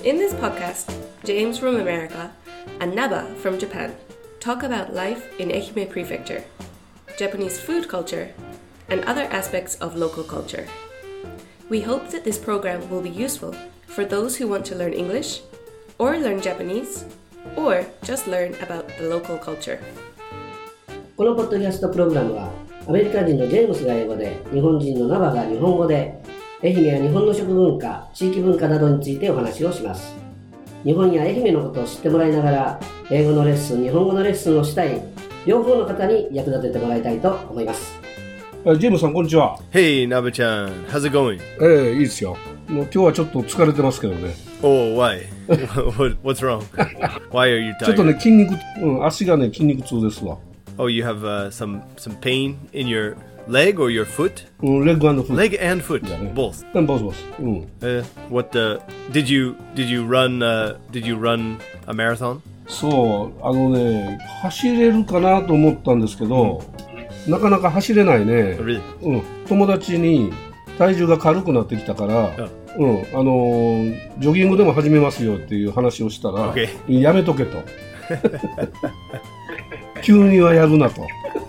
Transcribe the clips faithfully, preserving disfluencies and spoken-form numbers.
In this podcast, James from America and Naba from Japan talk about life in Ehime Prefecture, Japanese food culture, and other aspects of local culture. We hope that this program will be useful for those who want to learn English, or learn Japanese, or just learn about the local culture. このポッドキャストプログラムはアメリカ人のジェームスが英語で、日本人のナバが日本語で、愛媛や日本の食文化、地域文化などについてお話をします。日本や愛媛のことを知ってもらいながら、英語のレッスン、日本語のレッスンをしたい両方の方に役立ててもらいたいと思います。 ジェームスさん、こんにちは。 Hey, Naba-chan. How's it going? ええ、いいですよ。もう今日はちょっと疲れてますけどね。 Oh, why? What's wrong? Why are you tired? ちょっとね、筋肉、うん、足がね、筋肉痛ですわ。 Oh, you have uh, some some pain in your leg or your foot? うん、レッグ&フット。 Leg and foot, yeah, both. And both, both. うん。 Uh, what the? Did you did you run? Uh, did you run a marathon? そう、あのね、走れるかなと思ったんですけど、うん、なかなか走れないね。 Really? うん。友達に体重が軽くなってきたから、oh. うん、あのー、ジョギングでも始めますよっていう話をしたら、 okay. やめとけと。急にはやるなと。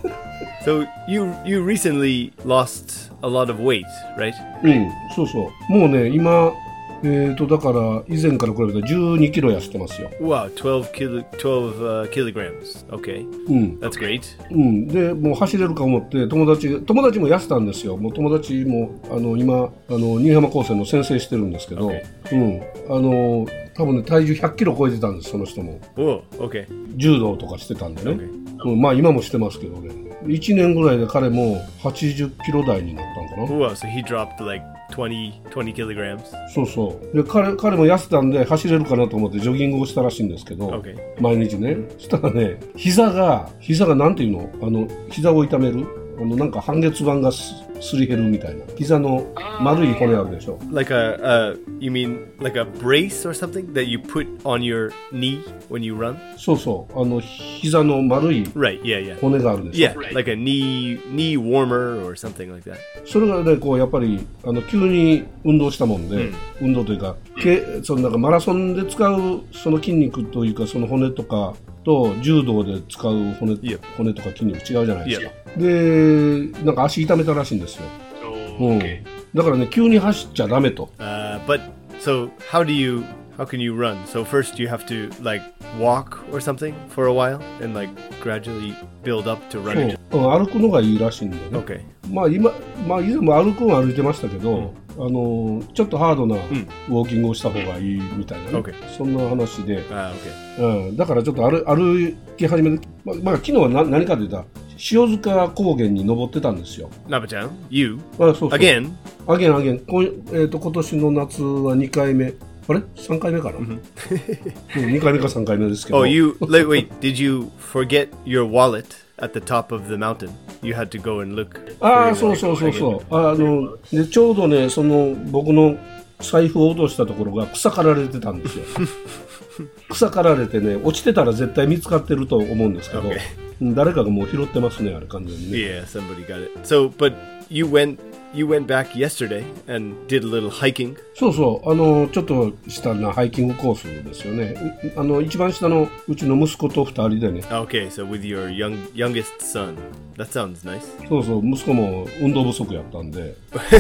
So you you recently lost a lot of weight, right? うん、そうそう。もうね、今えーとだから以前から比べたらじゅうにキロ痩せてますよ。 Wow, twelve kilo, twelve uh, kilograms. Okay. うん。 That's great. うん。で、もう走れるか思って友達友達も痩せたんですよ。もう友達もあの今あの新居浜高専の先生してるんですけど、 okay. うん。あの多分ね体重ひゃっキロ超えてたんですその人も。 Oh, okay. 柔道とかしてたんでね。 Okay. うん、まあ今もしてますけどね。いちねんぐらいで彼もはちじゅっキロ台になったんかな。 Wow, so he dropped like twenty, twenty kilograms. そうそう。で、彼、彼も痩せたんで走れるかなと思ってジョギングをしたらしいんですけど、 okay. 毎日ね。そしたらね、膝が、膝がなんていうのあの、膝を痛めるあの、なんか半月板がす、すり減るみたいな。膝の丸い骨あるでしょ。 Like a, uh, you mean like a brace or something that you put on your knee when you run? そうそう。あの、膝の丸い right, yeah, yeah. 骨があるでしょ。 Yeah, like a knee, knee warmer or something like that. それがね、こう、やっぱり、あの、急に運動したもんで、うん、運動というか、けそのなんかマラソンで使うその筋肉というか、その骨とかと、柔道で使う骨、yeah. 骨とか筋肉違うじゃないですか。Yeah. で、なんか足痛めたらしいんですよ。 Oh, うん。だからね、急に走っちゃダメと。 Uh, but, so, how do you, how can you run? So first you have to, like, walk or something for a while and, like, gradually build up to running? そう。歩くのがいいらしいんだよね。 Okay. まあ今、まあ以前も歩くは歩いてましたけど、うん、あの、ちょっとハードなウォーキングをした方がいいみたいなね。 Okay. そんな話で。 Ah, okay. うん。だからちょっと歩、歩き始めて、まあ、まあ、昨日はな何かと言ったら、塩塚高原に登ってたんですよ。 Naba-chan, you? あ、そうそう。 Again? Again, again. こえーと、今年の夏はにかいめ。あれ ?さん 回目かな、mm-hmm. にかいめかさんかいめですけど。 Oh, you, wait, wait, did you forget your wallet at the top of the mountain? You had to go and look. ああ、そうそうそうそう。あの、で、ちょうどね、その、僕の財布を落としたところが草刈られてたんですよ。草刈られてね、落ちてたら絶対見つかってると思うんですけど、okay. 誰かがもう拾ってますね、あれ完全にね。 Yeah, somebody got it. So, but you went, you went back yesterday and did a little hiking? そうそう、あの、ちょっとしたなハイキングコースですよね。あの、一番下のうちの息子と二人でね。 Okay, so with your young, youngest son. That sounds nice. そうそう、息子も運動不足やったんで。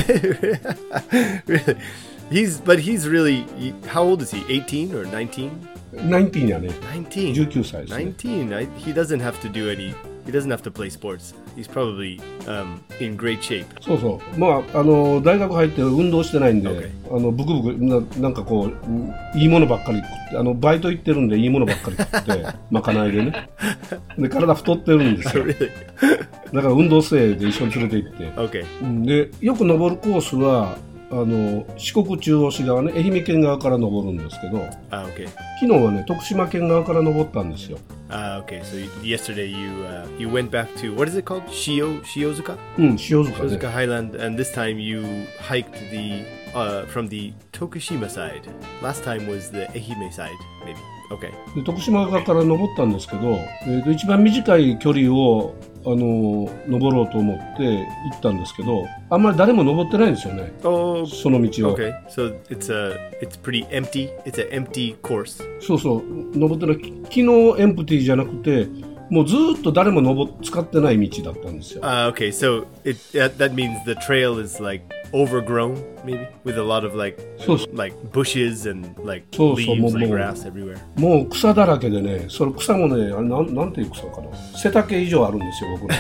Really? He's, but he's really, how old is he? eighteen or nineteen? nineteen やね。 nineteen? じゅうきゅうさいですね。 nineteen? I, he doesn't have to do any, he doesn't have to play sports. He's probably um, in great shape. そうそう。まあ、あの、大学入って運動してないんで、okay. あの、ブクブクな、なんかこう、いいものばっかり食って、あの、バイト行ってるんでいいものばっかり食って、まかないでね。で、体太ってるんですよ。 Really? だから運動生で一緒に連れて行って。 Okay. で、よく登るコースは、あの四国中央市側ね、愛媛県側から登るんですけど、 ah, okay. 昨日はね、徳島県側から登ったんですよ。 Ah, okay. So yesterday you uh, you went back to, what is it called? Shio Shiozuka? うん、塩塚ね。 Shiozuka Highland, and this time you hiked the uh, from the Tokushima side. Last time was the Ehime side, maybe. Okay. で徳島側から登ったんですけど、えーと、一番短い距離をあの登ろうと思って行ったんですけど、あんまり誰も登ってないんですよね。 Oh, その道を。 Okay, so it's a it's pretty empty. It's an empty course. そうそう、登ってない。昨日エンプティじゃなくて、もうずっと誰も登使ってない道だったんですよ。 Uh, okay, so it that, that means the trail is like overgrown, maybe with a lot of like そうそう like bushes and like そうそう、 leaves, もう like もう grass everywhere. もう草だらけでね、それ草もね、あれなんなんていう草かな、背丈以上あるんですよ、僕の。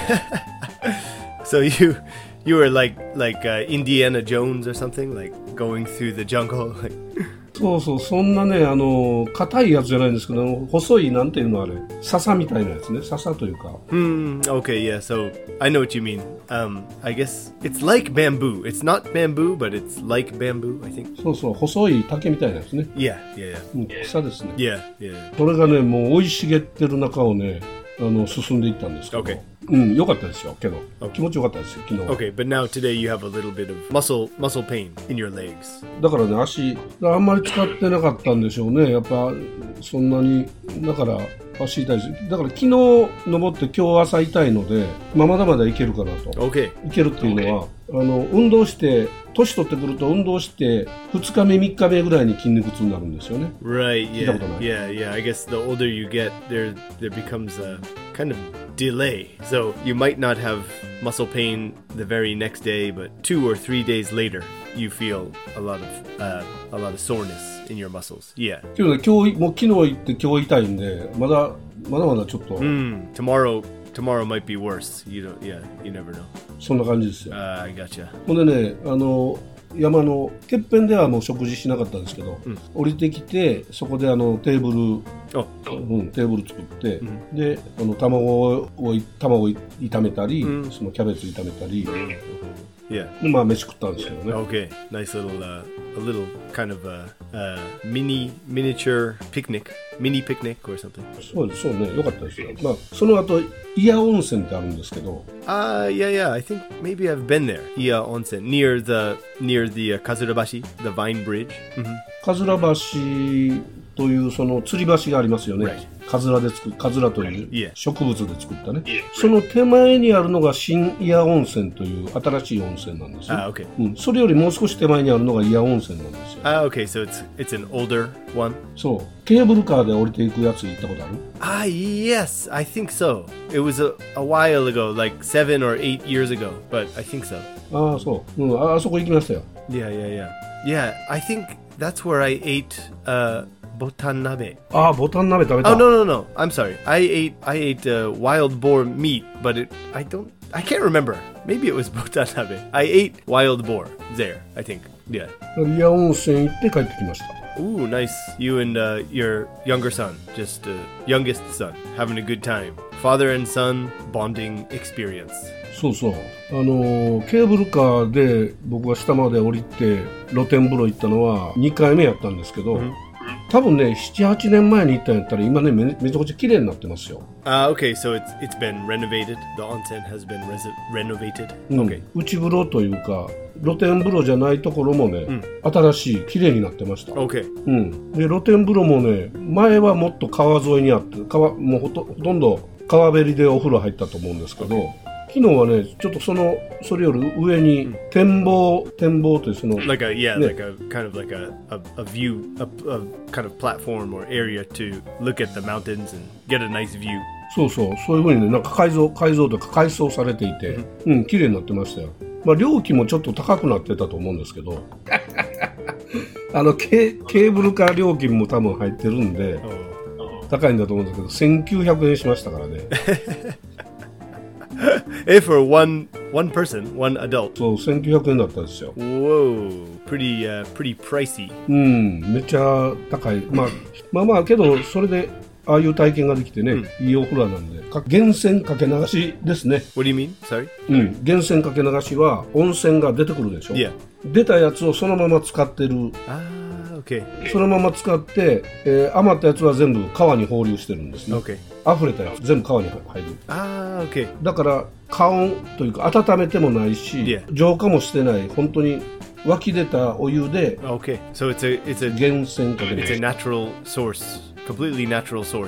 So you you were like like uh, Indiana Jones or something, like going through the jungle. Like そうそう、そんなね、あの硬いやつじゃないんですけど、細いなんていうのあれ、笹みたいなやつね、笹というか。 Hmm. Okay. Yeah. So I know what you mean. Um. I guess it's like bamboo. It's not bamboo, but it's like bamboo. I think. そうそう、細い竹みたいなやつね。 Yeah. Yeah. Yeah. うん、草ですね。 Yeah. Yeah. それがね、もう生い茂ってる中をね、あの進んでいったんですけど、 Okay. うん、良かったですよ、けど、 Okay. 気持ちよかったですよ、昨日。 Okay. But now today you have a little bit of muscle muscle pain in your legs. だからね、足、あんまり使ってなかったんでしょうね、やっぱ、そんなに、だから足痛いです。だから昨日登って今日朝痛いので、まあ、まだまだいけるかなと。 Okay. いけるっていうのは、あの運動して年取ってくると運動してふつかめみっかめぐらいに筋肉痛になるんですよね。 Right. 聞いた Yeah. ことない。 Yeah. Yeah. I guess the older you get, there there becomes a kind of delay. So you might not have muscle pain the very next day, but two or three days later, you feel a lot of uh, a lot of soreness in your muscles. Yeah. けどね、今日もう昨日行って今日痛いんで、まだまだまだちょっと Mm, tomorrow tomorrow might be worse. You don't. Yeah. You never know. そんな感じですよ。 Uh, I gotcha. ほんでね、あの山のてっぺんではもう食事しなかったんですけど、 うん、 降りてきてそこであのテーブル、 Oh. うん、テーブル作って、 うん、 であの卵を卵を炒めたり、 うん、 そのキャベツ炒めたり、 Yeah. でまあ飯食ったんですけどね。 Okay. Nice little uh, a little kind of a, uh mini miniature picnic, mini picnic or something. そうですそうね、良かったですよ。まあその後伊谷温泉ってあるんですけど、 Uh yeah, yeah. I think maybe I've been there. Iya Onsen, near the near the uh, Kazurabashi, the Vine Bridge. Mm-hmm. かずら橋というその吊り橋がありますよね。 Right. かずらで作るかずらという Yeah. 植物で作ったね。その手前にあるのが新伊谷温泉という新しい温泉なんですよ。 Ah, okay. うん、それよりもう少し手前にあるのが伊谷温泉なんですよ。 Ah, okay. So it's it's an older one. そう、ケーブルカーで降りていくやつ行ったことある？ Ah, yes, I think so. It was a, a while ago, like seven or eight years ago, but I think so. ああ、そう、うん、ああそこ行きましたよ。 Yeah, yeah, yeah. Yeah, I think that's where I ate uh, botan nabe. ああ、ボタン鍋食べた。 Oh no, no, no. I'm sorry. I ate I ate uh, wild boar meat, but it I don't I can't remember. Maybe it was botan nabe. I ate wild boar there, I think. Yeah. 伊谷温泉行って帰ってきました。 Ooh, nice. You and uh, your younger son, just uh, youngest son, having a good time. Father and son bonding experience. そうそう、あのーケーブルカーで僕が下まで降りて露天風呂行ったのはにかいめやったんですけど、うん、多分ねななはちねんまえに行ったんやったら今ね め, めちゃくちゃ綺麗になってますよ。 Uh, okay, so it's it's been renovated. The onsen has been res- renovated. うん、 Okay. 内風呂というか露天風呂じゃないところもね、うん、新しい綺麗になってました。 Okay. うん、で露天風呂もね前はもっと川沿いにあって川もうほ と, ほとんど川べりでお風呂入ったと思うんですけど、okay.昨日はね、ちょっとそのそれより上に展望、うん、展望というその like a yeah, ね、 like a kind of like a a, a view, a, a kind of platform or area to look at the mountains and get a nice view. そうそう、そういう風にね、なんか改造改造とか改装されていて、うん、うん、綺麗になってましたよ。まあ料金もちょっと高くなってたと思うんですけど、あのケー、ケーブルカー料金も多分入ってるんで、oh. 高いんだと思うんですけど、せんきゅうひゃくえんしましたからね。 Hey, for one one person, one adult. そう、せんきゅうひゃくえんだったんですよ。 Whoa, pretty uh, pretty pricey. うん、めっちゃ高い。まあまあまあけどそれでああいう体験ができてね、うん、いいお風呂なんで、か源泉かけ流しですね。 What do you mean? Sorry? うん、源泉かけ流しは温泉が出てくるでしょ。 Yeah. 出たやつをそのまま使ってる。 ああ、OK。 そのまま使って、えー、余ったやつは全部川に放流してるんですね。 OK。 溢れたやつ全部川に入る。 ああ、OK。 だから加温というか温めてもないし、yeah. 浄化もしてない、本当に湧き出たお湯で。 OK。So it's a it's a 源泉かけ流し。 It's a natural source, completely natural source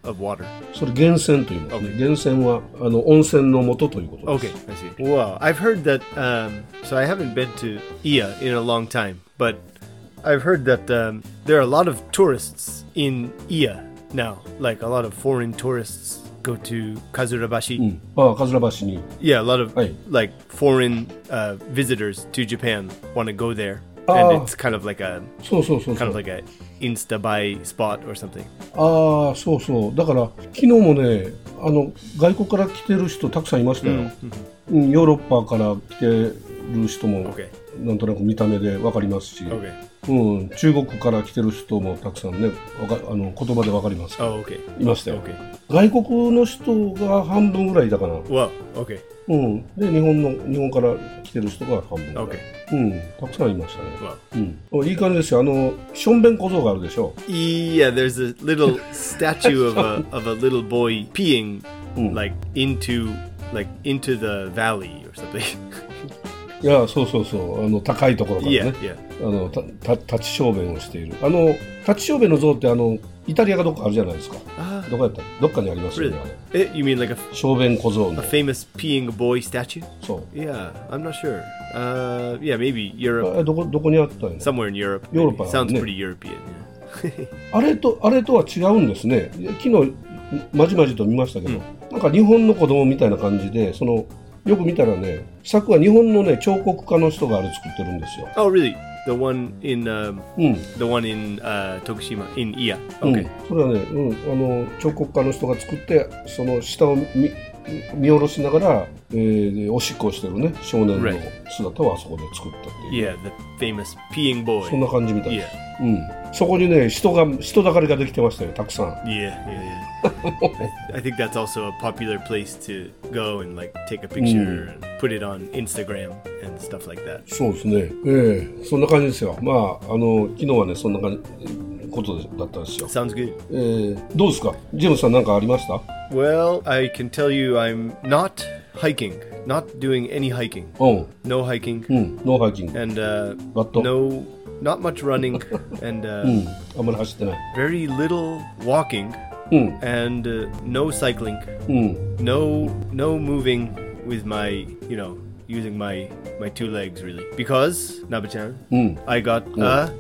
of water? それ源泉と言いますね。源泉はあの温泉の元ということです。 Okay, I see. Wow, I've heard that. Um, so I haven't been to Iya in a long time, but I've heard that um, there are a lot of tourists in Iya now. Like a lot of foreign tourists go to Kazurabashi. うん、ああ、かずら橋に。 Yeah, a lot of Hey. like foreign uh, visitors to Japan want to go there, Ah. and it's kind of like a そうそうそうそ kind う。 of like a insta buy spot or something. ああ、そうそう。だから昨日もね、あの外国から来てる人たくさんいましたよ。うん、ヨーロッパから来てる人も Okay. なんとなく見た目でわかりますし、 Okay. うん、中国から来てる人もたくさんね、わかあの言葉でわかりますけど、 Oh, okay. いましたよ。 Okay. 外国の人が半分ぐらいだかな。 Well, okay. うん。で日本の日本から来てる人が半分ぐらい。 Okay. うん。たくさんいましたね。 Well. うん。いい感じですよ。あのしょんべん小僧があるでしょ。 Yeah, there's a little statue of a of a little boy peeing like into like into the valley or something. いや、そうそうそう。あの高いところからね。 Yeah, yeah. あのたた立ち小便をしている。あの立ち小便の像ってあのイタリアがどっかあるじゃないですか。 Ah, どこやったどっかにありますよ really? ね。あれ Eh, you mean like a, 小便小僧 a の。 famous peeing boy statue? そう。 Yeah, I'm not sure. Uh, yeah, maybe Europe, あどこどこにあったんや。 somewhere in Europe. Europe, maybe. Sounds yeah. pretty European. Yeah. あれとあれとは違うんですね。昨日まじまじと見ましたけど、なんか日本の子供みたいな感じで、そのよく見たらね、作は日本のね彫刻家の人があれ作ってるんですよ。 Oh, really? The one in um, うん。 the one in uh, Tokushima in Iya. うん Okay. それはね、うん、あの彫刻家の人が作ってその下を見見下ろしながら、えーでおしっこをしてるね少年の Right. 姿をあそこで作ったっていう、 Yeah, the famous peeing boy. そんな感じみたいです、 Yeah. うん、そこにね人が人だかりができてましたよたくさん。 Yeah, yeah, yeah. I, I think that's also a popular place to go and like take a picture and put it on Instagram and stuff like that. そうですね、ええそんな感じですよ。まああの昨日はねそんな感じことだったんですよ。 Sounds good. えーどうですかジェームスさん、何かありました？ Well, I can tell you I'm not hiking, not doing any hiking. うん、 No hiking うん、ノーハイキング、 and uh, バット、 no, not much running and う uh, ん、あんまり走ってない、 very little walking うん、 and uh, no cycling, うん、 no no moving with my, you know, using my my two legs really. Because, Naba-chan, うん、 I got a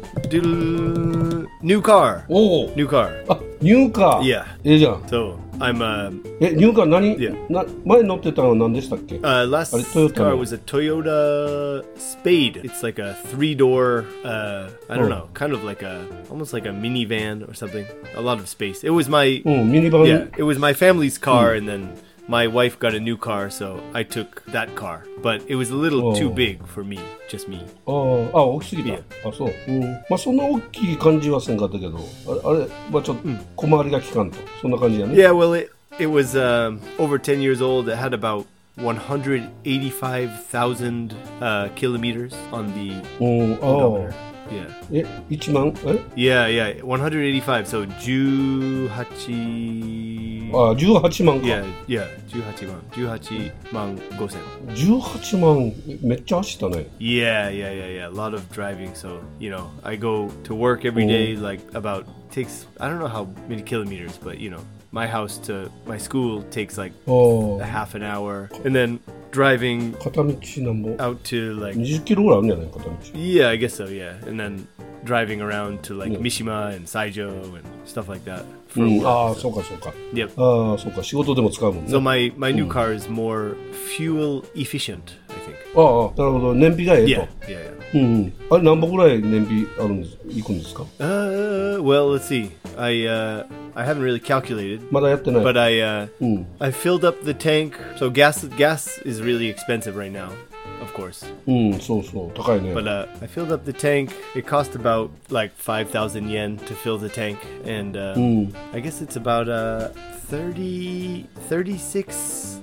doodle- new car. おお、 New car. あ、ニューカー、 Yeah. ええじゃん。 So, I'm uh, え、ニューカー何、 Yeah. な前乗ってたのは何でしたっけ？ uh last Are they Toyota car no? was a Toyota Spade. It's like a three-door uh I don't Oh. know, kind of like a almost like a minivan or something. A lot of space. It was my うん、ミニバン、 yeah, it was my family's car and then my wife got a new car, so I took that car. But it was a little Oh. too big for me, just me. あーあ、大きすぎた。 Yeah. あ、そう。うん。まあそんな大きい感じはせんかったけど、あれ、あれはちょっと小回りが利かんと、そんな感じやね。 Yeah, well, it it was um, over ten years old. It had about one hundred eighty-five thousand uh, kilometers on the うん、あ odometer. あ。 Yeah, え、いちまんえ yeah, yeah. one hundred eighty-five. So, eighteen. あ、じゅうはちまんか。 Yeah, yeah. eighteen man. eighteen man gosen. じゅうはちまん、めっちゃ走ったね。 Yeah, yeah, yeah, yeah. A lot of driving. So, you know, I go to work every day. Like about takes. I don't know how many kilometers, but you know, my house to my school takes like あ a あ。 half an hour, and then driving 片道なんぼ out to like にじゅっキロぐらいあるんじゃない片道。 yeah, I guess so, yeah, and then driving around to like Yeah. Mishima and Saijo and stuff like that う for ん、 work. ああ、 so- そうかそうか。 Yep. ああ、そうか。仕事でも使うもんね。 So my my new car is more fuel efficient, I think. ああ、なるほど。燃費がええ Yeah, と。 yeah, yeah. うんうん。あれ何本ぐらい燃費あるんです行くんですか？ Uh, well, let's see. I uh I haven't really calculated, まだやってない。 but I uh うん。 I filled up the tank. So gas gas is really expensive right now, of course. うん、そうそう。高いね。 But uh, I filled up the tank. It cost about like five thousand yen to fill the tank, and uh, うん。 I guess it's about uh thirty thirty six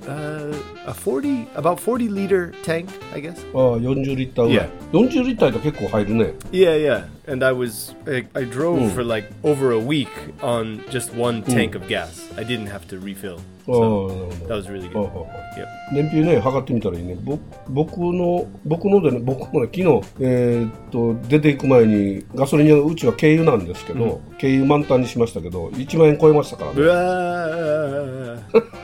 uh, a forty, about forty liter tank, I guess. ああ、よんじゅうリッターぐらい。 Yeah. よんじゅうリッターだと結構入るね。 Yeah, yeah. And I was, I, I drove Mm. for like over a week on just one tank of gas. I didn't have to refill. ああ、なるほ That ど。 was really あ good. あああ Yep. 燃費ね、測ってみたらいいね。ぼ僕の、僕のでね、僕もね、昨日、えーっと、出ていく前に、ガソリン屋、うちは軽油なんですけど、軽油満タンにしましたけど、いちまんえん超えましたからね。 Uah,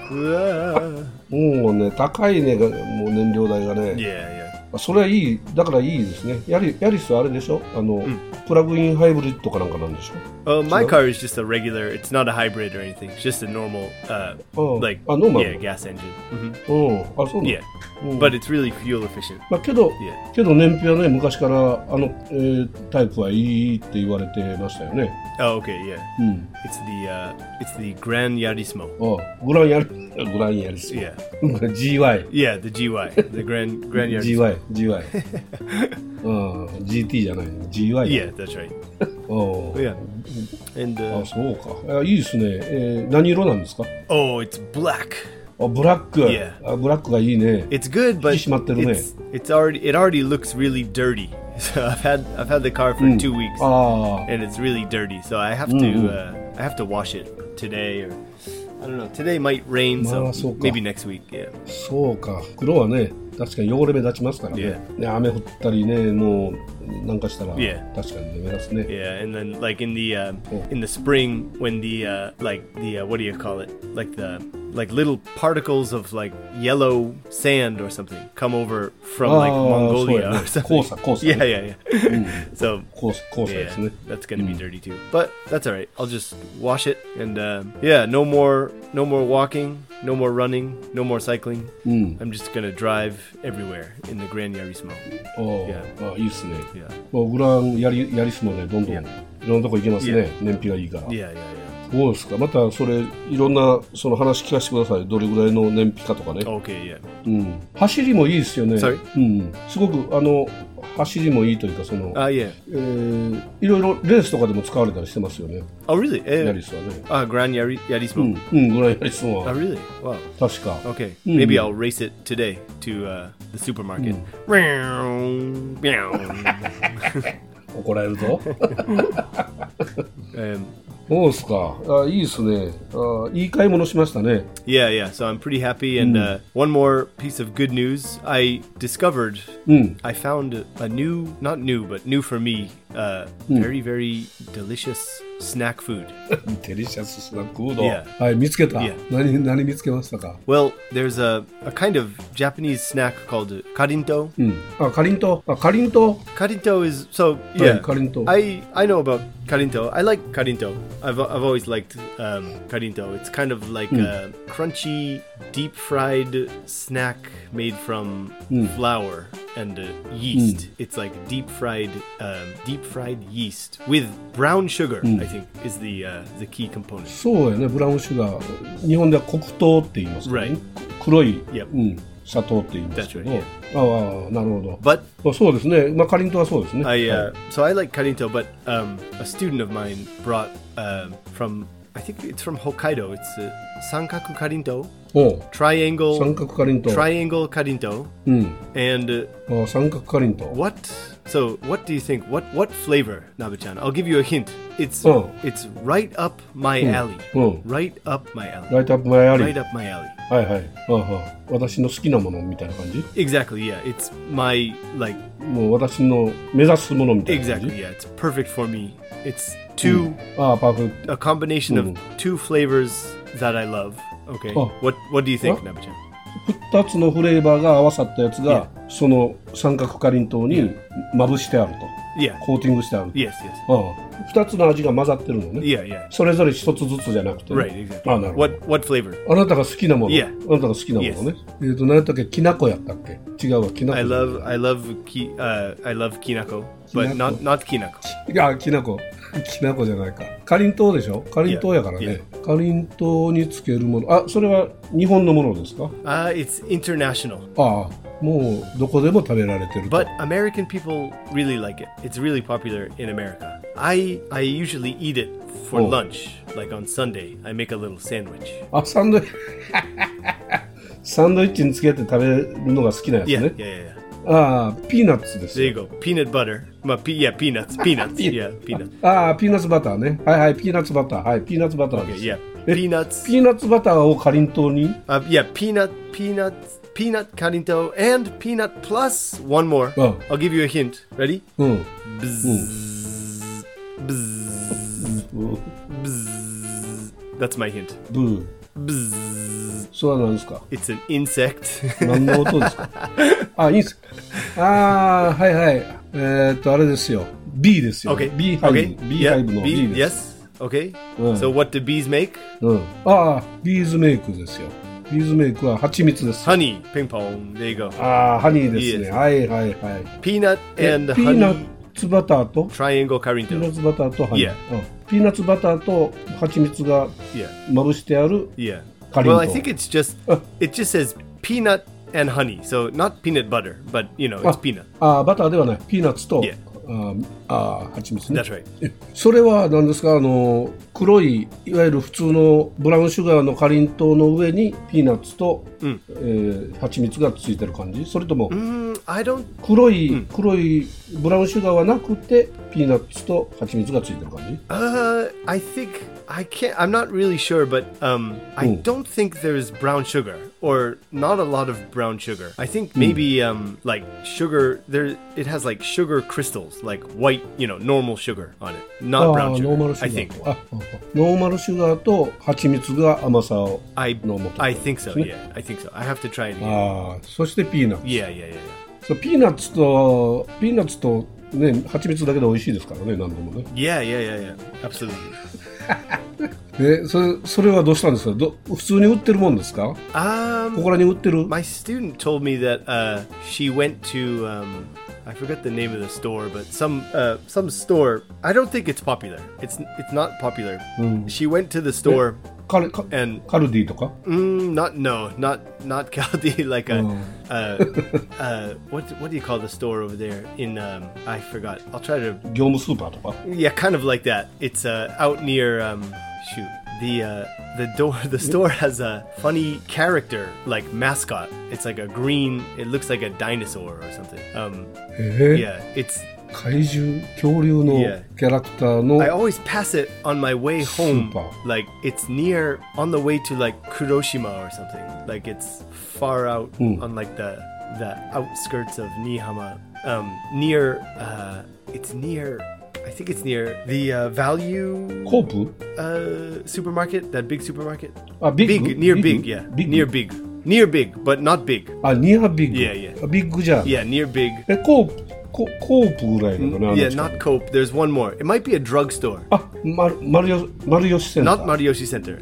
uah. もうね、高いね、がもう燃料代がね。 Yeah, yeah. それはいい、だからいいですね。ヤリ、ヤリスはあれでしょ、あの、プラグインハイブリッドかなんかなんでしょ。 Uh, my So- car is just a regular. It's not a hybrid or anything. It's just a normal, uh, Oh, like a normal. yeah, gas engine. hmm うん、あ、そうなの。 Yeah, うん but it's really fuel efficient. まあ、けど、 Yeah. けど燃費はね、昔からあの、えータイプはいいって言われてましたよね。 Oh, okay, yeah. うん。 It's the uh, it's the Gran Yarismo. あ、グランヤリ、グランヤリス。 Yeah, ジーワイ。 yeah, the G Y, the Gran Gran Yarismo. ジーワイ、ジーワイ。うん、ジーティー じゃないの。ジーワイ。 Yeah, that's right. お Yeah, and あ、 uh, そうか。あ、いいですね。えー何色なんですか？ oh, it's black. あ、ブラック。 Yeah. あ、ブラックがいいね。 It's good, but 引き締まってるね。 it's it's already it already looks really dirty. So I've had I've had the car for two weeks, あ and it's really dirty. So I have to uh, I have to wash it today, or I don't know. Today might rain, so まあ、そうか。 maybe next week. Yeah. あ、そうか。黒はね、確かに汚れ目立ちますからね。 Yeah. ね、雨降ったりね、もうなんかしたら、 Yeah. 確かにね、目立つね。 Yeah, and then like in the uh, Oh. in the spring when the uh, like the uh, what do you call it? Like the like little particles of like yellow sand or something come over from like Ah, Mongolia so, or something. Kosa, Kosa. Yeah, yeah, yeah. So コース、コース yeah, ですね。 that's gonna be dirty too. But that's all right. I'll just wash it and uh, yeah, no more no more walking, no more running, no more cycling. うん。 I'm just gonna drive everywhere in the Gran Yarismo. あ Yeah. あ、いいですね。 Yeah. もうグランやり、やりすもね、どんどん、 Yeah. いろんなとこ行けますね。 Yeah. 燃費がいいから。 Yeah, yeah, yeah. そうですか。また、それ、いろんな、その話聞かせてください。どれぐらいの燃費かとかね。 Okay, yeah. うん。走りもいいですよね。 Sorry？ うん。すごく、あの、走りもいいというか、その、 Uh, yeah. えー、いろいろレースとかでも使われたりしてますよね。 Oh, really? ヤ Uh, リスはね。 uh, Gran Yari- う Yarismo. ん。うん、グランヤリスも Oh, really? Wow. 確か。 Okay. Mm. Maybe I'll race it today to uh, the supermarket. Meow. 怒られるぞ。 um, そうですか。あ、いいですね。あ、いい買い物しましたね。 yeah, yeah. So I'm pretty happy. And uh, one more piece of good news. I discovered, うん。 I found a new, not new, but new for me, uh, very, very delicious snack food. デリシャススナックフード。 Yeah. はい、見つけた。 Yeah. 何、何見つけましたか？ Well, there's a, a kind of Japanese snack called karinto. うん。あ、かりんとう。あ、かりんと Karinto is, so, う。 yeah. かりんとう。 I I know about karinto. I like karinto. I've I've always liked um, karinto. It's kind of like a crunchy, deep fried snack made from flour and uh, yeast. It's like deep fried, um, deep fried yeast with brown sugar. I think is the uh, the key component. そうやね、ブラウンシュガー。日本では黒糖って言いますからね。 Right. 黒い、 Yep. うん、砂糖って言いますけど。 That's right, ああ、なるほど。 But あ、そうですね。まあ、かりんとうはそうですね。 I は uh, so I like karinto, but um, a student of mine brought um, from I think it's from Hokkaido. It's uh, sankaku karinto, い、おう triangle 三角かりんとう。 triangle karinto, うん。 and uh, あ、三角かりんとう。 what? So what do you think? What what flavor, Nabe-chan? I'll give you a hint. It's Oh. it's right up my alley. Oh. Right up my alley. ライトアップ前あり。 Right up my alley. はいはい。ああ、私の好きなものみたいな感じ。 Exactly. Yeah. It's my like もう私の目指すものみたいな感じ。 exactly. Yeah. It's perfect for me. It's two ああ、パーフェクト。 a combination of two flavors that I love. Okay. Oh. What what do you think, What? Nabe-chan? 二つのフレーバーが合わさったやつが、その三角かりんとうにまぶしてあると。 Yeah. コーティングしてある。 Yes. Yes. ああ、二つの味が混ざってるのね。 Yeah. Yeah. それぞれ一つずつじゃなくてね。 Right. Exactly. ああ、なるほど。 What what flavor? あなたが好きなもの。 Yeah. あなたが好きなものね。えっと、何やったっけ、きなこやったっけ。違うわ、きなこ。 I love I love ki uh I love kinako, but Kinako. not not kinako. いや、きなこ。きなこじゃないか。かりんとうでしょ。かりんとうやからね。 Yeah. かりんとうにつけるもの。あ、それは日本のものですか？ Uh, it's international, ああ、もうどこでも食べられてると。 but American people really like it. It's really popular in America. I I usually eat it for Oh. lunch, like on Sunday. I make a little sandwich. あ、サンドイッチ。 サンドイッチにつけて食べるのが好きなやつ Yeah, ね。 yeah, yeah, yeah. ああ、ピーナッツです There よ。 you go. Peanut butter. Ma, pe- yeah, peanuts. Peanuts. yeah, peanuts. ああ、ピーナッツバターね。はいはい、ピーナッツバター。はい、ピーナッツバターで Okay, す。 yeah. え Peanuts. ピーナッツバターをかりんとうに Uh, yeah, peanut, peanuts, peanut karinto, and peanut plus one more. Oh. I'll give you a hint. Ready? うん。 Bzzz, bzzz, bzzz. That's my hint. ブー。 Bzzz. それは何ですか？ It's an insect. 何の音ですか？あ、いいんす。ああ、はいはい。えー、っと、あれですよ。B ですよ。 Okay. B ハイ Okay. ブ。B Yeah, ハイブの bee- B です。 yes. Okay. Mm. So what do bees make? うん。ああ、ビーズメイクですよ。ビーズメイクは蜂蜜です。 Honey. Ping pong. There you go. ああ、ハニーですね。 Yes. はいはいはい。 Peanut え and ピーナ honey ッツバターと triangle ピーナッ karinto. ツバターとハニー。 Yeah. うんピーナッツバターと蜂蜜が Yeah. まぶしてある Yeah. Karinto. Well, I think it's just it just says peanut and honey. So not peanut butter, but you know, it's あ peanut. あーバターではない。ピーナッツと Yeah. あーあー蜂蜜ね。 That's right. えそれは何ですか？あの黒いいわゆる普通のブラウンシュガーのかりんとうの上にピーナッツと、 うんえー蜂蜜がついてる感じ？それとも Mm, I don't 黒い、黒いブラウンシュガーはなくてピーナッツと蜂蜜がついてる感じ？ uh I think I can't I'm not really sure, but um I Mm. don't think there's brown sugar or not a lot of brown sugar. I think maybe um like sugar there it has like sugar crystals, like white, you know, normal sugar on it. あ Not ー brown ノーマル sugar. シ I ュガ think. ーとあああノーマルシュガーと蜂蜜が甘さを I のもと I think so. Yeah. I think so. I have to try it again. ああそしてピーナッツ Yeah, yeah, yeah, yeah. そうピーナッツとピーナッツとね蜂蜜だけで美味しいですからね何でもね Yeah, yeah, yeah, yeah. Absolutely. えそれそれはどうしたんですかど普通に売ってるもんですか Um ここらに売ってる My student told me that uh, she went to um, I forgot the name of the store, but some uh, some store. I don't think it's popular. It's it's not popular. She went to the store カルカ and カルディとか mm, not no not not Caldi like a Oh. uh, uh, what what do you call the store over there in um, I forgot. I'll try to 業務スーパーとか yeah, kind of like that. It's uh, out near um, shoot the uh, the door. The store has a funny character like mascot. It's like a green. It looks like a dinosaur or something. Um, えー yeah, it's. 怪獣恐竜の Yeah. キャラクターの I always pass it on my way home. Super. Like it's near on the way to like Kuroshima or something. Like it's far out on like the the outskirts of Nihama. Um, near. Uh, it's near. I think it's near the uh, value コープ uh, supermarket, that big supermarket. あビッグ Big, near ビッ big, グ yeah. ビッグ Near big. Near big, but not big. あニアビッグ Yeah, yeah. あビッグじゃん Yeah, near big. えコープココープぐらいのかな、あの Yeah, 近く not Cope. There's one more. It might be a drugstore. あマルマルヨマルヨシセンタ Not ー Mariyoshi Center.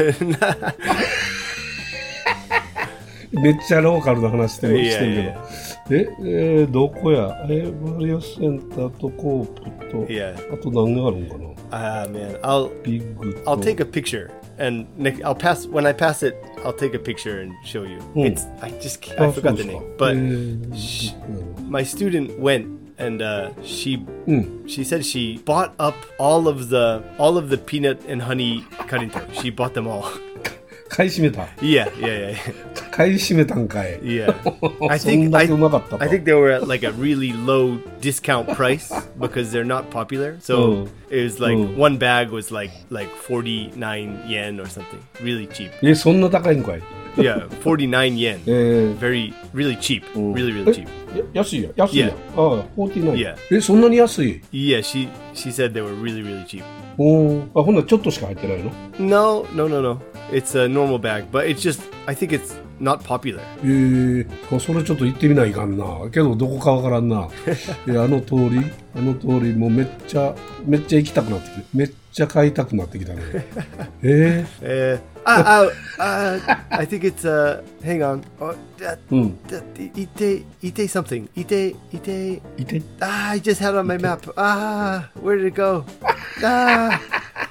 めっちゃローカルな話してるいやしてるけどいやえ、えーどこやえマルヨシセンターとコープと、 Yeah. あと何があるんかな Ah, man. I'll ビッグと I'll take a picture and Nick, I'll pass when I pass it. I'll take a picture and show you. Hmm. It's I just can't, I あそう forgot で the すか name, but えー sh- ビッグやな my student went and uh, she うん she said she bought up all of the all of the peanut and honey karinto. She bought them all. 買い占めた Yeah, yeah, yeah, 買い占めたんかい yeah. I そん think だ I, けうまかったと I think they were at like a really low discount price because they're not popular. So Oh. it was like Oh. one bag was like like forty-nine yen or something. Really cheap. えそんな高いんかい Yeah, forty-nine yen. えー Very really cheap. うん Really really え cheap. や安いや安いや Yeah. ああフォーティーナイン Yeah. えそんなに安い Yeah, she she said they were really really cheap. おーあほんならちょっとしか入ってないの No, no, no, no. It's a normal bag, but it's just I think it's not popular. えー、あそれちょっと行ってみないかんなけどどこかわからんなえあの通りあの通りもうめっちゃめっちゃ行きたくなってきてめっちゃ買いたくなってきたねえ Uh, ah, ah, uh, I think it's uh. Hang on. Oh, that, ー、うん that, ite ite something. Ite ite. いて Ah, I just had it on my map. Ah, where did it go? Ah,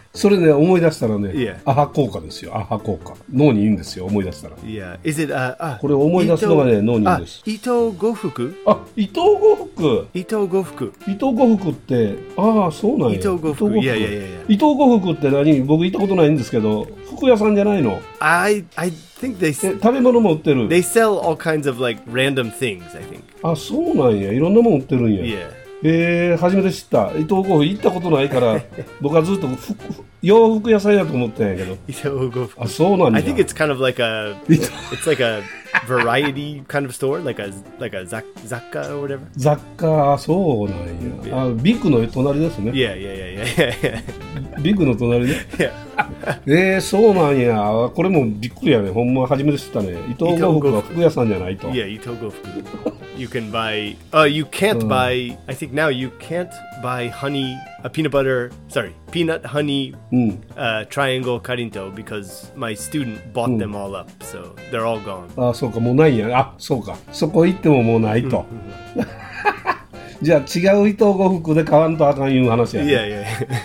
それね、思い出したらね、 Yeah. アハ効果ですよ、アハ効果。脳にいいんですよ、思い出したら。 Yeah. Is it, uh, あ、 これ思い出すのがね、脳にいいんです。 伊藤呉服あ、伊藤呉服伊藤呉服伊藤呉服って、ああ、そうなんや。 伊藤呉服。いやいやいやいや。 伊藤呉服って何？僕行ったことないんですけど、服屋さんじゃないの？ I, I think they, 食べ物も売ってる。 they sell all kinds of like random things, I think. あ、そうなんや。いろんなもん売ってるんや。 Yeah. えー、初めて知った。伊藤呉服行ったことないから僕はずっと服洋服屋さんやと思ったんやけど。 伊藤呉服。 あ、そうなんだ。 I think it's kind of like a it's like a variety kind of store, like a like a Zakka or whatever. 雑貨、そうなんや。あ、ビッグの隣ですね。 Yeah, yeah, yeah, yeah, yeah. ビッグの隣ね。 Yeah. えー、そうなんや。これもびっくりやね。ほんま初めて知ったね。伊藤呉服は服屋さんじゃないと。 Yeah, 伊藤呉服。You can buy. Uh, you can't buy. I think now you can't buy honey, a peanut butter. Sorry, peanut honey, uh, triangle Karinto because my student bought them all up, so they're all gone. あ、そうか、もうないんや。あ、そうか。そこ行ってももうないと。じゃあ違う伊藤呉服で買わんとあかんいう話やね。 Yeah,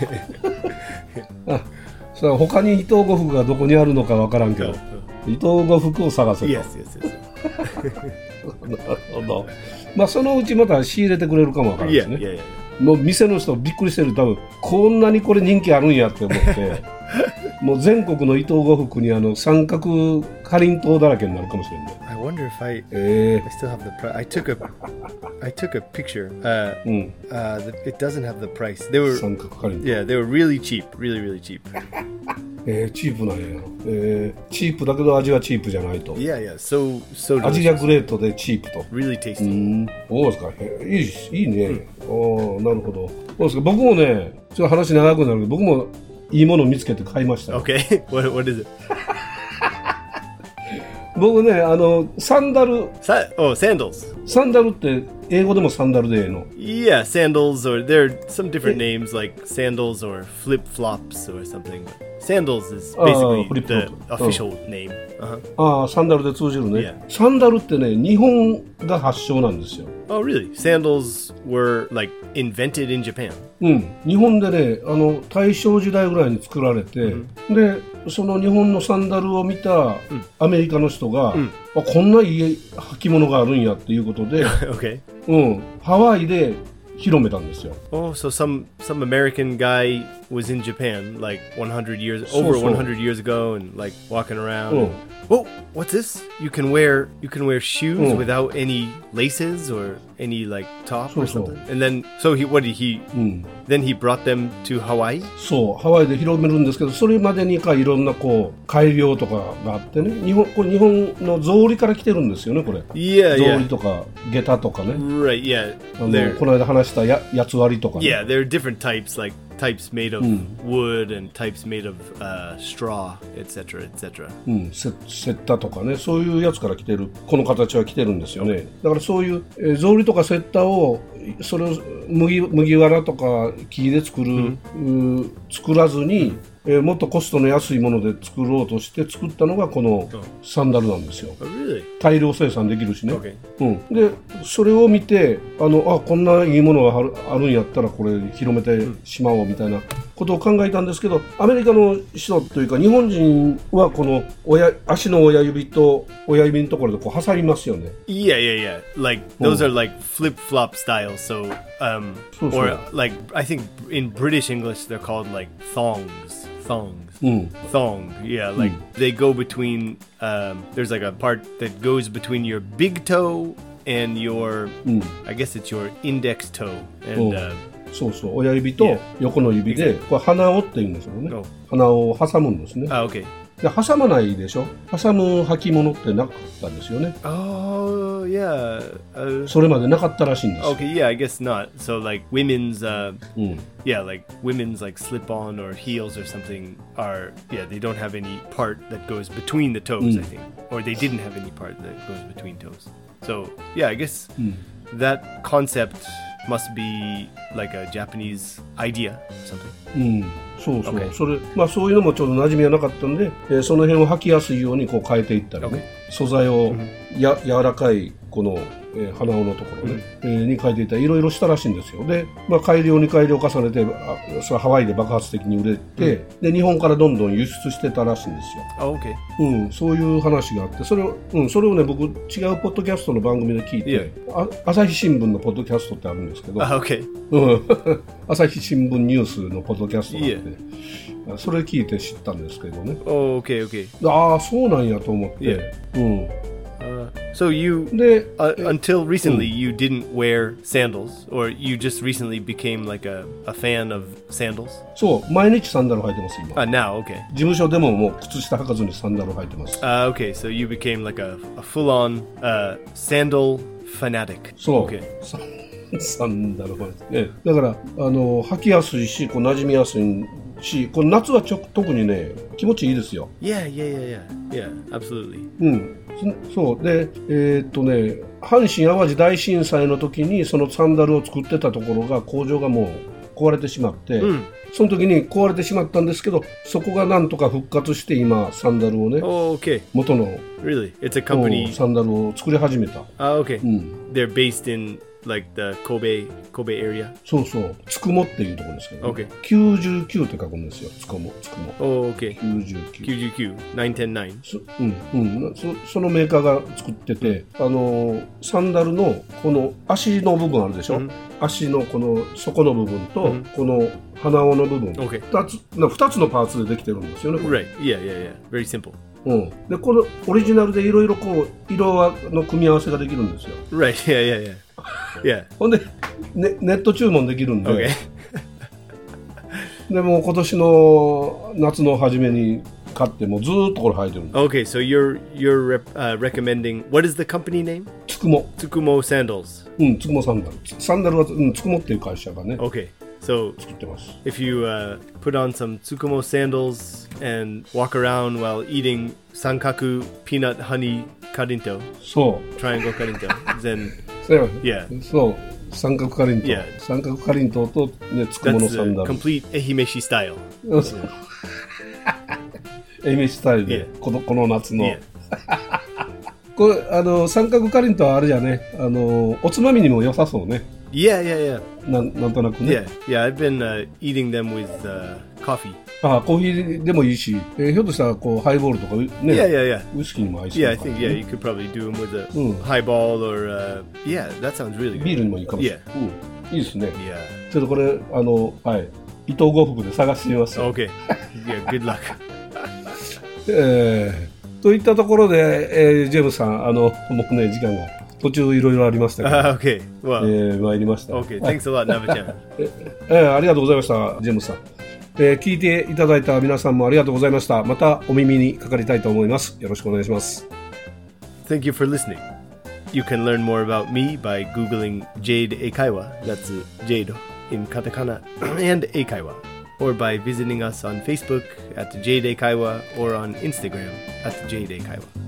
yeah. あ、それ他に伊藤呉服がどこにあるのかわからんけど、伊藤呉服を探せと。 Yes, yes, yes. なるほど。まあそのうちまた仕入れてくれるかもわからんですね。 Yeah, yeah, yeah. もう店の人びっくりしてる。多分こんなにこれ人気あるんやって思ってもう全国の伊藤呉服にあの三角かりんとうだらけになるかもしれない。 I wonder if I, えー、 I still have the price. I took a I took a picture. Uh, うん、 uh, the, it doesn't have the price. They were 三角かりんとう。 yeah, they were really cheap, really, really cheap. えー、チープなんや、えー。チープだけど味はチープじゃないと。 Yeah, yeah. So, so 味が delicious. グレートでチープと。 Really う tasty. ん、そうですか。いいし、いいね。おー、なるほど。そうですか。僕もね、ちょっと話長くなるけど、僕もいいものを見つけて買いましたよ。 Okay. what what is it? 僕ね、あのサンダル。 Sa- oh, sandals. サンダルって英語でもサンダルでええの？ Yeah, sandals, or there are some different names like sandals or flip flops or something. Sandals is basically the official name. Uh-huh. ああ、サンダルで通じるね。 Yeah. サンダルってね、日本が発祥なんですよ。 Oh, really? Sandals were like invented in Japan. うん、日本でね、あの大正時代ぐらいに作られて、うん、でその日本のサンダルを見たアメリカの人が、うん、あ、こんないい履物があるんやっていうことで、 okay. うん、ハワイで広めたんですよ。 Oh, so some some American guy was in Japan like one hundred years over one hundred years ago and like walking around. Oh. And, oh, what's this? You can wear you can wear shoes oh. without any laces or any like top so, or something. So. And then so he what did he mm. then he brought them to Hawaii? そう、ハワイで広めるんですけど、それまでにかいろんなこう改良とかがあってね、日本これ日本の草履から来てるんですよね、これ。 Yeah, 草 yeah. 履とか下駄とかね。 Right, yeah. あのこの間話したややつ割りとかね。 Yeah, there are different types like types made of mm. wood and types made of uh, straw, et cetera, et cetera. うん、セッタとかね、そういうやつから来てる、この形は来てるんですよね。だからそういう、えー、草履とかセッタをそれを麦麦わらとか木で作る、mm. う作らずに、mm. えー、もっとコストの安いもので作ろうとして作ったのがこのサンダルなんですよ。 Oh, really? 大量生産できるしね。 Okay. うん、でそれを見てあのあこんないいものがある、あるんやったらこれ広めてしまおうみたいなことを考えたんですけど、アメリカの人というか日本人はこの親足の親指と親指のところでこう挟みますよね。 Yeah, yeah, yeah. Like those are like flip-flop style. So, um, so, so. or like I think in British English they're called like thongs.Thongs. Mm. Thong, yeah, like mm. they go between, um, there's like a part that goes between your big toe and your, mm. I guess it's your index toe. And, uh, そうそう、親指と横の指で、これ鼻緒って言うんですよね。Oh. 鼻緒を挟むんですね。 Ah, okay. で挟まないでしょ。挟む履物ってなかったんですよね。 Oh, yeah. Uh, それまでなかったらしいんです。 Okay, yeah, I guess not. So like women's, uh, mm. yeah, like women's like slip-on or heels or something are, yeah, they don't have any part that goes between the toes, mm. I think. Or they didn't have any part that goes between toes. So, yeah, I guess mm. that concept must be like a Japanese idea or something. うん、そうそう、okay. それまあそういうのもちょっと馴染みがなかったんで、えー、その辺を履きやすいようにこう変えていったりね、okay. 素材をや、うん、柔らかいこの、えー、鼻緒のところね、うん、えー、に書いていたらいろいろしたらしいんですよ。で、まあ、改良に改良を重ねてあそれハワイで爆発的に売れて、うん、で日本からどんどん輸出してたらしいんですよ。 あ、OK。 うん、そういう話があってそれを、うん、それをね僕違うポッドキャストの番組で聞いて、 yeah. あ朝日新聞のポッドキャストってあるんですけど、 あ、OK。 うん、朝日新聞ニュースのポッドキャストがあって、yeah. それ聞いて知ったんですけどね。 Oh, OK, OK。 ああそうなんやと思って。 Yeah. うん。 Uh, so you, uh, until recently, you didn't wear sandals, or you just recently became like a, a fan of sandals? そう、毎日サンダル履いてます今。 Uh, now, okay. 事務所でももう靴下履かずにサンダル履いてます。 Uh, okay, so you became like a, a full-on uh, sandal fanatic. そう。 Okay. サンダル履いて、ね。だからあの履きやすいし、こう馴染みやすいし、この夏はちょ特にね気持ちいいですよ。 Yeah, yeah, yeah, yeah, yeah, absolutely. うん。そうで、えー、っとね阪神・淡路大震災の時にそのサンダルを作ってたところが工場がもう壊れてしまって、うん、その時に壊れてしまったんですけどそこがなんとか復活して今サンダルをね、 oh, okay. 元の Really? It's a company... サンダルを作り始めた。 あ、OK、うん、They're based in like the Kobe, Kobe area? そうそうつくもっていうところですけど、ね、 okay. きゅうじゅうきゅうって書くんですよつくもつくも。 Oh, OK きゅうじゅうきゅうきゅうじゅうきゅう きゅうひゃくじゅうきゅううんうん、そ, そのメーカーが作ってて、あのサンダルのこの足の部分あるでしょ、うん、足のこの底の部分と、うん、この鼻緒の部分、 okay. ふたつなふたつのパーツでできてるんですよね。 Right, yeah, yeah, yeah, very simple。 うん、でこのオリジナルでいろいろこう色の組み合わせができるんですよ。 Right, yeah, yeah, yeah、yeah. ほんで、ね、ネット注文できるんで、 okay. でも今年の夏の初めに買ってもずーっとこれ履いてるんです。 Okay, so you're, you're、uh, recommending what is the company name? つくも。 つくも sandals。 うん、つくもサンダル。サンダルは、うん、つくもっていう会社がね、 Okay, so if you、uh, put on some Tsukumo sandals and walk around while eating sankaku peanut honey karinto, そう triangle karinto, then yeah, そう三角かりんとう、 yeah. 三角かりんとうと、ね、つくものサンダル。 That's a complete 愛媛市スタイル。 愛媛スタイルで、 yeah. この、この夏の、 yeah. これあの三角かりんとうはあれじゃね、あのおつまみにも良さそうね。 Yeah, yeah, yeah. な, なんとなくね。 Yeah, yeah. I've been、uh, eating them with、uh, coffee. ああ、コーヒーでもいいし、えー、ひょっとしたらこうハイボールとかね、 yeah, yeah, yeah. ウイスキーにも合いそうだから、ね。Yeah, I think yeah, you could probably do them with a、うん、highball or、uh, yeah, that sounds really good. ビールにもいいかもしれない。 Yeah. うん、いいですね。 Yeah. ちょっとこれあのはい伊藤呉服で探してみます。 Okay. Yeah, good luck. えー、といったところで、えー、ジェームスさんあのもうね時間が途中いろいろありましたけど、 uh, okay. Well, えー、参りました。 Okay, thanks a lot, Nava-chan. えー、ありがとうございましたジェームスさん。えー、聞いていただいた皆さんもありがとうございました。またお耳にかかりたいと思います。よろしくお願いします。 Thank you for listening. You can learn more about me by googling Jade Eikaiwa. That's Jade in katakana and Eikaiwa. Or by visiting us on Facebook at Jade Eikaiwa or on Instagram at Jade Eikaiwa.